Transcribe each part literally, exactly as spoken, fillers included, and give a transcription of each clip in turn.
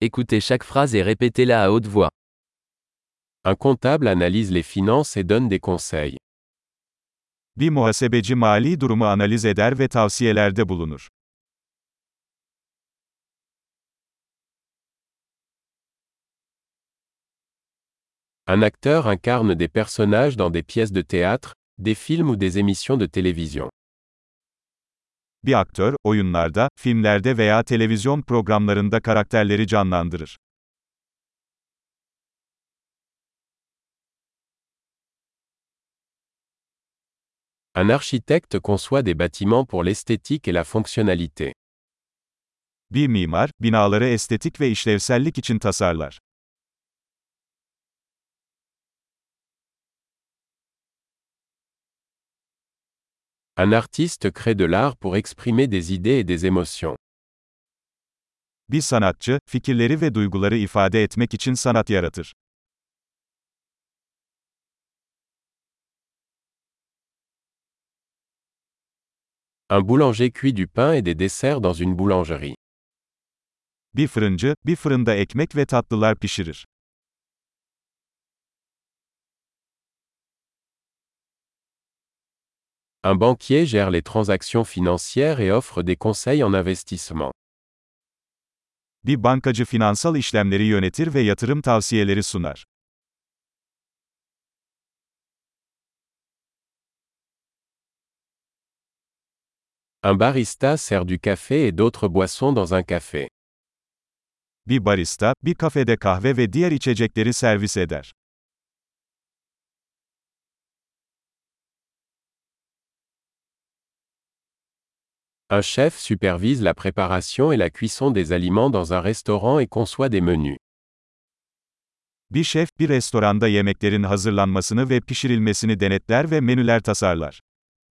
Écoutez chaque phrase et répétez-la à haute voix. Un comptable analyse les finances et donne des conseils. Bir muhasebeci mali durumu analiz eder ve tavsiyelerde bulunur. Un acteur incarne des personnages dans des pièces de théâtre, des films ou des émissions de télévision. Bir aktör, oyunlarda, filmlerde veya televizyon programlarında karakterleri canlandırır. Un architecte conçoit des bâtiments pour l'esthétique et la fonctionnalité. Bir mimar, binaları estetik ve işlevsellik için tasarlar. Un artiste crée de l'art pour exprimer des idées et des émotions. Bir sanatçı, fikirleri ve duyguları ifade etmek için sanat yaratır. Un boulanger cuit du pain et des desserts dans une boulangerie. Bir fırıncı, bir fırında ekmek ve tatlılar pişirir. Un banquier gère les transactions financières et offre des conseils en investissement. Bir bankacı finansal işlemleri yönetir ve yatırım tavsiyeleri sunar. Un barista sert du café et d'autres boissons dans un café. Bir barista, bir kafede kahve ve diğer içecekleri servis eder. Un chef supervise la préparation et la cuisson des aliments dans un restaurant et conçoit des menus. Bir şef, bir restoranda yemeklerin hazırlanmasını ve pişirilmesini denetler ve menüler tasarlar.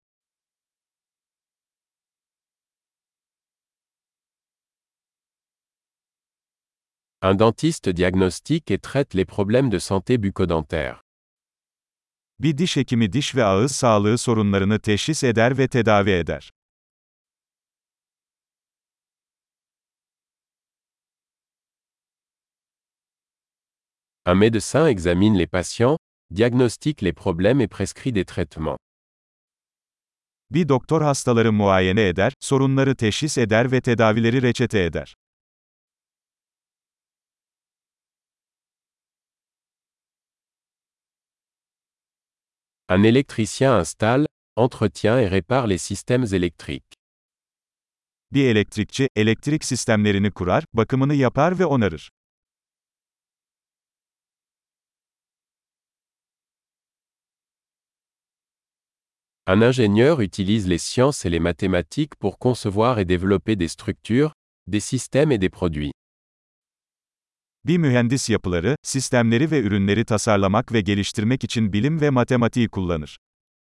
Un dentiste diagnostique et traite les problèmes de santé bucco-dentaire. Bir diş hekimi diş ve ağız sağlığı sorunlarını teşhis eder ve tedavi eder. Un médecin examine les patients, diagnostique les problèmes et prescrit des traitements. Bir doktor hastaları muayene eder, sorunları teşhis eder ve tedavileri reçete eder. Un électricien installe, entretient et répare les systèmes électriques. Bir elektrikçi, elektrik sistemlerini kurar, bakımını yapar ve onarır. Un ingénieur utilise les sciences et les mathématiques pour concevoir et développer des structures, des systèmes et des produits. Bir mühendis yapıları, sistemleri ve ürünleri tasarlamak ve geliştirmek için bilim ve matematiği kullanır.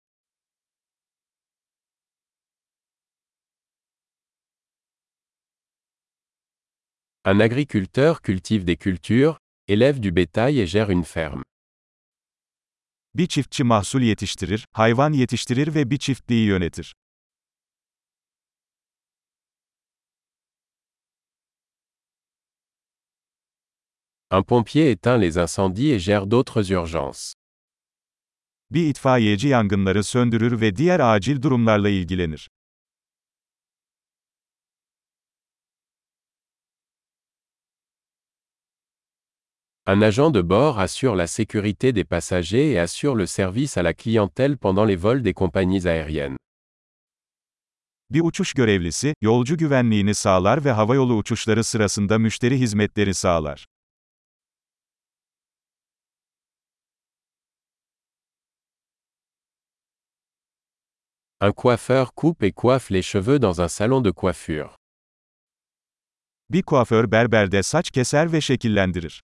Un agriculteur cultive des cultures, élève du bétail et gère une ferme. Bir çiftçi mahsul yetiştirir, hayvan yetiştirir ve bir çiftliği yönetir. Un pompier éteint les incendies et gère d'autres urgences. Bir itfaiyeci yangınları söndürür ve diğer acil durumlarla ilgilenir. Un agent de bord assure la sécurité des passagers et assure le service à la clientèle pendant les vols des compagnies aériennes. Bir uçuş görevlisi, yolcu güvenliğini sağlar ve havayolu uçuşları sırasında müşteri hizmetleri sağlar. Un coiffeur coupe et coiffe les cheveux dans un salon de coiffure. Bir kuaför berberde saç keser ve şekillendirir.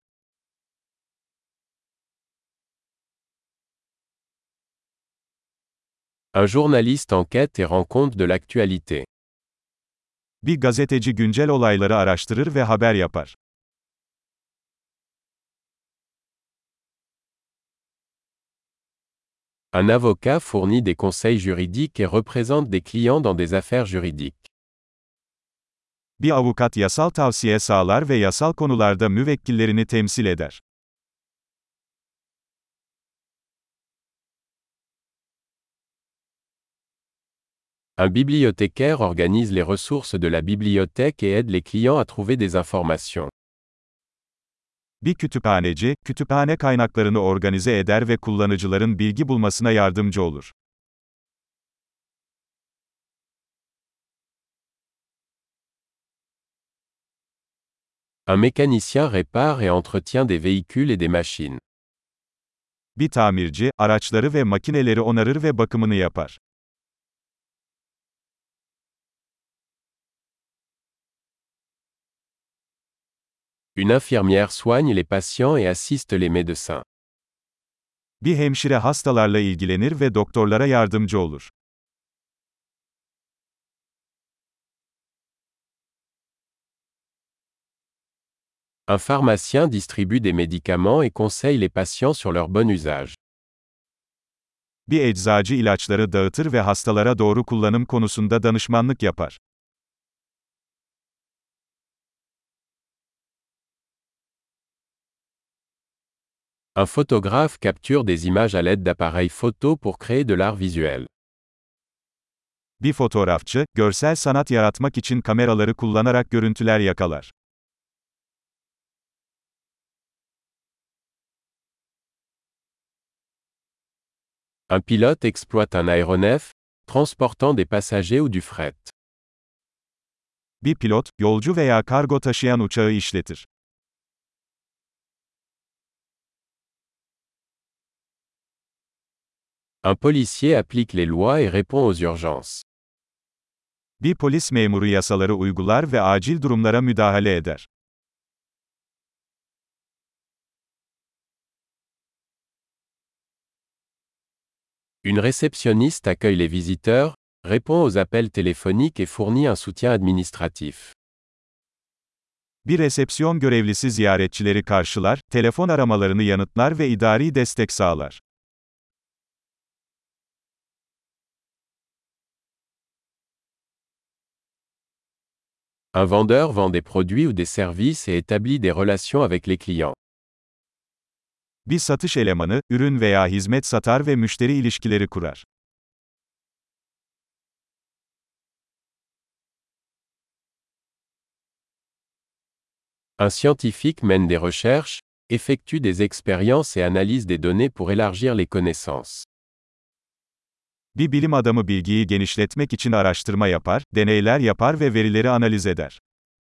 Un journaliste enquête et rend compte de l'actualité. Bir gazeteci güncel olayları araştırır ve haber yapar. Un avocat fournit des conseils juridiques et représente des clients dans des affaires juridiques. Bir avukat yasal tavsiye sağlar ve yasal konularda müvekkillerini temsil eder. Un bibliothécaire organise les ressources de la bibliothèque et aide les clients à trouver des informations. Bir kütüphaneci, kütüphane kaynaklarını organize eder ve kullanıcıların bilgi bulmasına yardımcı olur. Un mécanicien répare et entretient des véhicules et des machines. Bir tamirci, araçları ve makineleri onarır ve bakımını yapar. Une infirmière soigne les patients et assiste les médecins. Bir hemşire hastalarla ilgilenir ve doktorlara yardımcı olur. Un pharmacien distribue des médicaments et conseille les patients sur leur bon usage. Bir eczacı ilaçları dağıtır ve hastalara doğru kullanım konusunda danışmanlık yapar. Un photographe capture des images à l'aide d'appareils photo pour créer de l'art visuel. Bir fotoğrafçı, görsel sanat yaratmak için kameraları kullanarak görüntüler yakalar. Un pilote exploite un aéronef, transportant des passagers ou du fret. Bir pilot, yolcu veya kargo taşıyan uçağı işletir. Un policier applique les lois et répond aux urgences. Bir polis memuru yasaları uygular ve acil durumlara müdahale eder. Une réceptionniste accueille les visiteurs, répond aux appels téléphoniques et fournit un soutien administratif. Bir resepsiyon görevlisi ziyaretçileri karşılar, telefon aramalarını yanıtlar ve idari destek sağlar. Un vendeur vend des produits ou des services et établit des relations avec les clients. Bir satış elemanı, ürün veya hizmet satar ve müşteri ilişkileri kurar. Un scientifique mène des recherches, effectue des expériences et analyse des données pour élargir les connaissances. Bir bilim adamı bilgiyi genişletmek için araştırma yapar, deneyler yapar ve verileri analiz eder.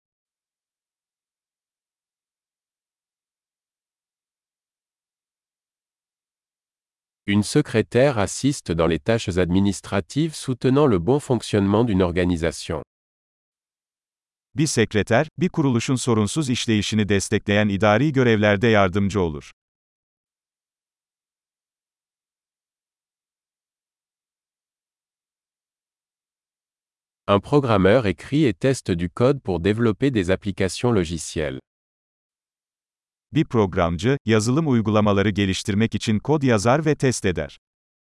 Une secrétaire assiste dans les tâches administratives soutenant le bon fonctionnement d'une organisation. Bir sekreter, bir kuruluşun sorunsuz işleyişini destekleyen idari görevlerde yardımcı olur. Un programmeur écrit et teste du code pour développer des applications logicielles. Bir programcı, yazılım uygulamaları geliştirmek için kod yazar ve test eder.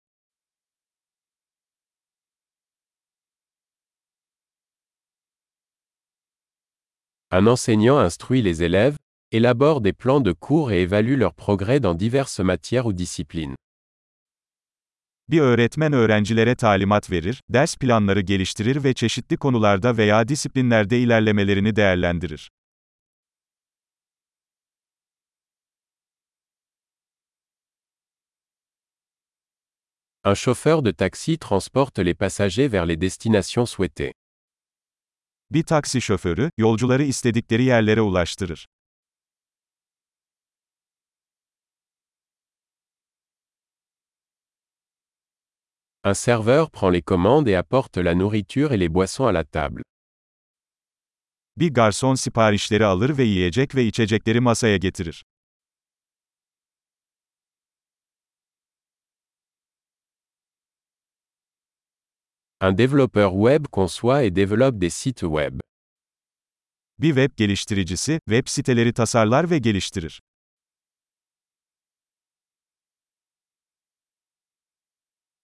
Un enseignant instruit les élèves, élabore des plans de cours et évalue leur progrès dans diverses matières ou disciplines. Bir öğretmen öğrencilere talimat verir, ders planları geliştirir ve çeşitli konularda veya disiplinlerde ilerlemelerini değerlendirir. Un chauffeur de taxi transporte les passagers vers les destinations souhaitées. Bir taksi şoförü, yolcuları istedikleri yerlere ulaştırır. Un serveur prend les commandes et apporte la nourriture et les boissons à la table. Bir garson siparişleri alır ve yiyecek ve içecekleri masaya getirir. Un développeur web conçoit et développe des sites web. Bir web geliştiricisi, web siteleri tasarlar ve geliştirir.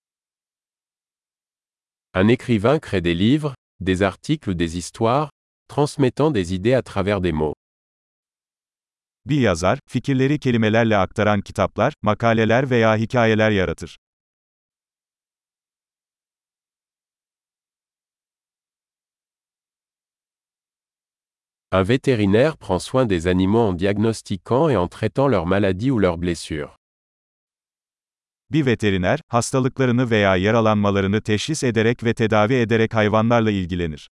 Un écrivain crée des livres, des articles ou des histoires, transmettant des idées à travers des mots. Bir yazar, fikirleri kelimelerle aktaran kitaplar, makaleler veya hikayeler yaratır. Un vétérinaire prend soin des animaux en diagnostiquant et en traitant leurs maladies ou leurs blessures. Bir veteriner, hastalıklarını veya yaralanmalarını teşhis ederek ve tedavi ederek hayvanlarla ilgilenir.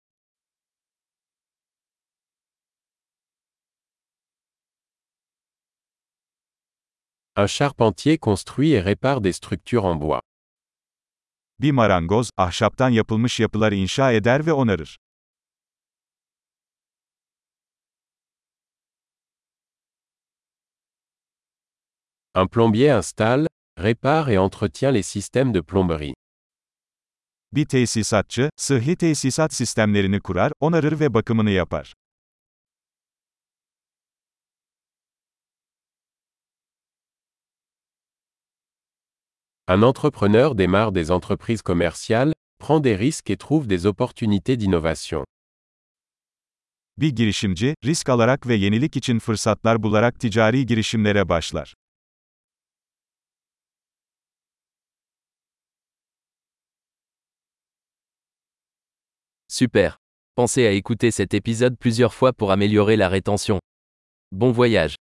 Un charpentier construit et répare des structures en bois. Bir marangoz, ahşaptan yapılmış yapılar inşa eder ve onarır. Un plombier installe, répare et entretient les systèmes de plomberie. Bir tesisatçı, sıhhi tesisat sistemlerini kurar, onarır ve bakımını yapar. Un entrepreneur démarre des entreprises commerciales, prend des risques et trouve des opportunités d'innovation. Bir girişimci, risk alarak ve yenilik için fırsatlar bularak ticari girişimlere başlar. Super. Pensez à écouter cet épisode plusieurs fois pour améliorer la rétention. Bon voyage.